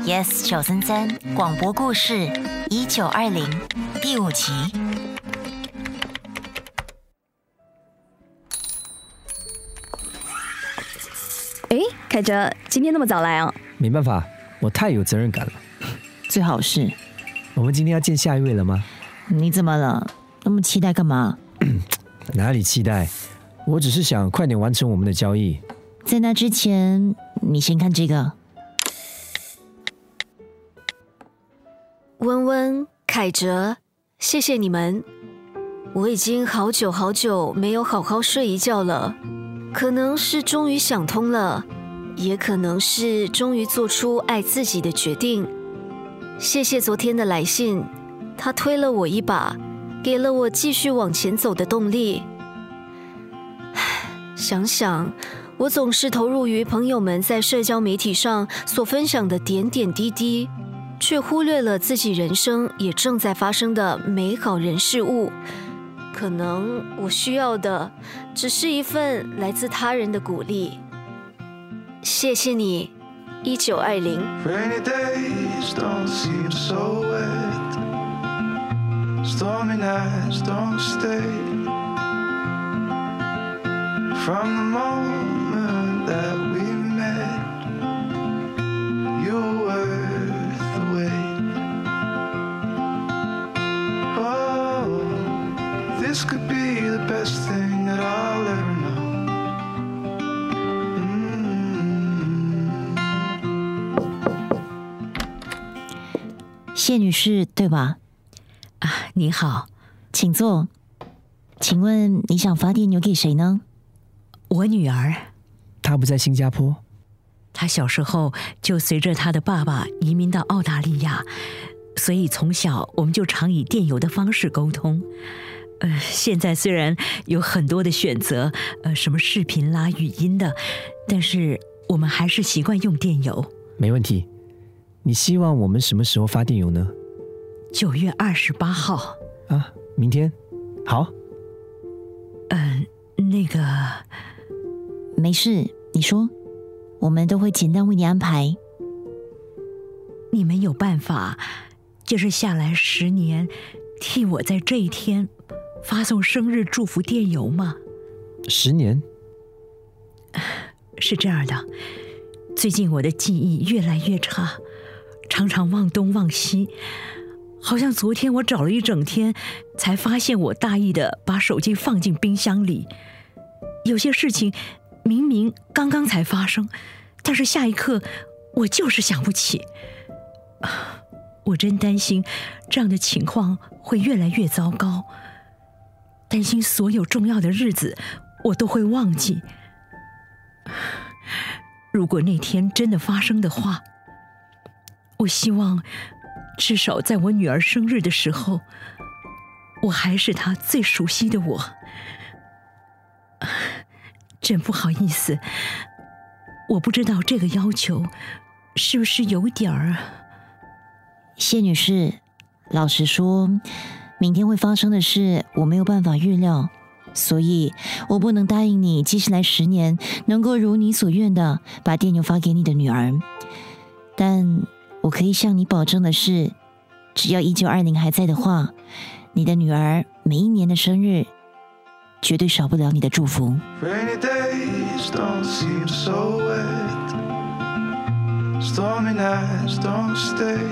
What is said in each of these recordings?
Yes 933广播故事1920第5集。 凯哲，今天那么早来啊？ 没办法，我太有责任感了。 最好是。 我们今天要见下一位了吗？ 你怎么了？那么期待干嘛？ 哪里期待？我只是想快点完成我们的交易。 在那之前，你先看这个。 温温、凯哲，谢谢你们。我已经好久没有好好睡一觉了，可能是终于想通了，也可能是终于做出爱自己的决定。谢谢昨天的来信，他推了我一把，给了我继续往前走的动力。想想，我总是投入于朋友们在社交媒体上所分享的点点滴滴，却忽略了自己人生也正在发生的美好人事物。可能我需要的只是一份来自他人的鼓励。谢谢你，1920。 Rainy days don't seem so wet. Stormy nights don't stay. From the moment that we met, you were worth the wait. Oh, this could be the best thing that I'll ever know. 谢女士，对吧？ 你好， 请坐。请问你想发电邮给谁呢？ 我女儿。 她不在新加坡？ 她小时候就随着她的爸爸移民到澳大利亚，所以从小我们就常以电邮的方式沟通。现在虽然有很多的选择，什么视频啦、语音的，但是我们还是习惯用电邮。 没问题。你希望我们什么时候发电邮呢 ？9月28号。 啊，明天？好。 那个…… 没事，你说，我们都会简单为你安排。 你们有办法，就是下来10年，替我在这一天发送生日祝福电邮吗 ？10年？ 是这样的，最近我的记忆越来越差，常常忘东忘西，好像昨天我找了一整天，才发现我大意的把手机放进冰箱里。有些事情明明刚刚才发生，但是下一刻我就是想不起。我真担心这样的情况会越来越糟糕，担心所有重要的日子我都会忘记。如果那天真的发生的话，我希望至少在我女儿生日的时候，我还是她最熟悉的我。真不好意思，我不知道这个要求是不是有点儿…… 谢女士，老实说，明天会发生的事我没有办法预料，所以我不能答应你接下来10年能够如你所愿的把电邮发给你的女儿。但我可以向你保证的是，只要1920还在的话，你的女儿每一年的生日绝对少不了你的祝福。 Rainy days don't seem so wet. Stormy nights don't stay.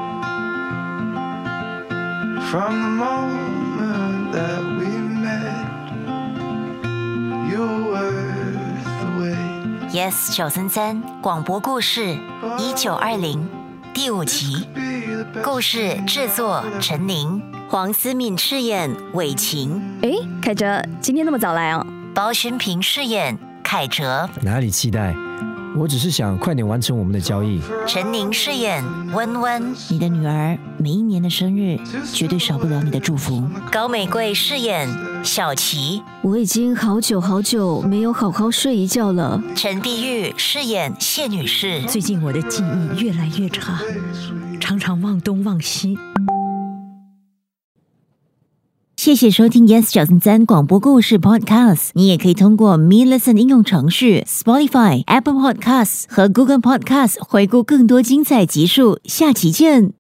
From the moment that we met, you were worth the wait. Yes 933广播故事1920第5集。故事制作陈宁，黄思敏饰演伟晴。 凯哲，今天那么早来啊？ 包勋平饰演凯哲。 哪里期待？我只是想快点完成我们的交易。 陈宁饰演温温，你的女儿每一年的生日绝对少不了你的祝福。高美贵饰演小琪， 我已经好久没有好好睡一觉了。 陈碧玉饰演谢女士， 最近我的记忆越来越差，常常忘东忘西。 谢谢收听 Yes 933广播故事 Podcast。你也可以通过 Me Listen 应用程序、Spotify、Apple Podcasts 和 Google Podcasts 回顾更多精彩集数。下期见。